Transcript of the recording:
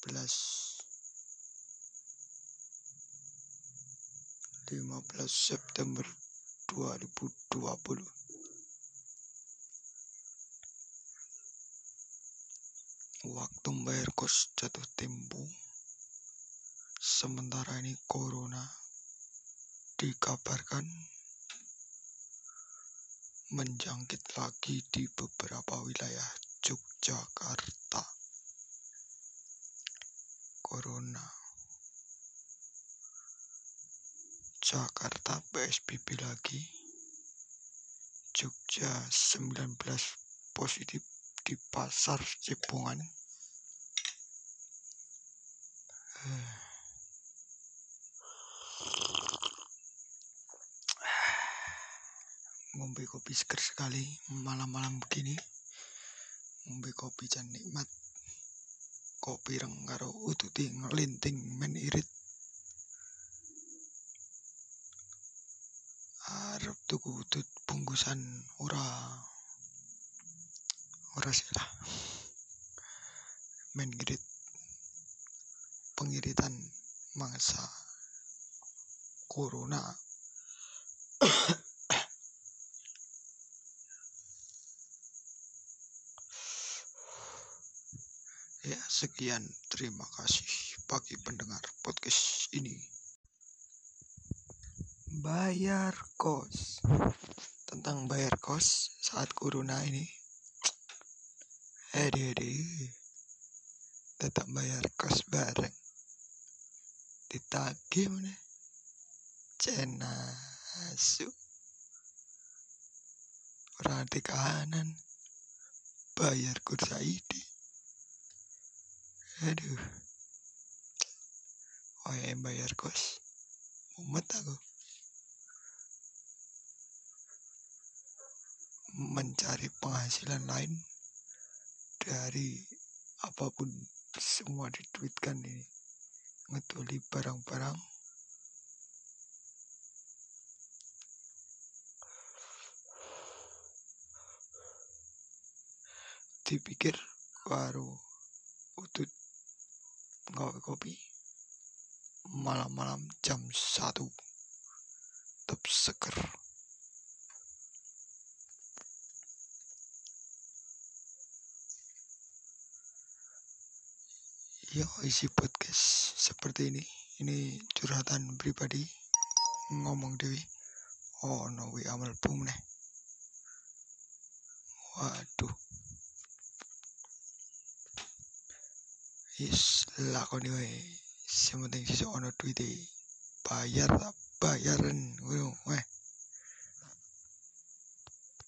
September 2020. Waktu membayar kos jatuh tempo. Sementara ini corona dikabarkan menjangkit lagi di beberapa wilayah Yogyakarta. Corona. Jakarta PSBB lagi. Jogja 19 positif di pasar Cepongan. Ngombe kopi seger sekali malam-malam begini. Ngombe kopi jan nikmat. Kopi reng karo ututi ngelinting men irit. Arep tuku utut bungkusan ora salah. Men irit. Pengiritan mangsa corona. Ya, sekian. Terima kasih bagi pendengar podcast ini. Bayar kos. Tentang bayar kos saat corona ini. Tetap bayar kos bareng. Ditagih mana? Cenasu. Orang di kanan. Bayar kursa ini. Aduh. Oh ya, bayar kos. Mumet aku. Mencari penghasilan lain dari apapun semua dituitkan ini. Ngetuli barang-barang. Dipikir karo utut ngawe kopi malam-malam jam 1 tetap seger. Ya, isi podcast seperti ini curhatan pribadi, ngomong dewi. Oh no, amal bum nih. Waduh. Yes, lakoni wae. Sementing sesuk ono duite. Bayaran ngono.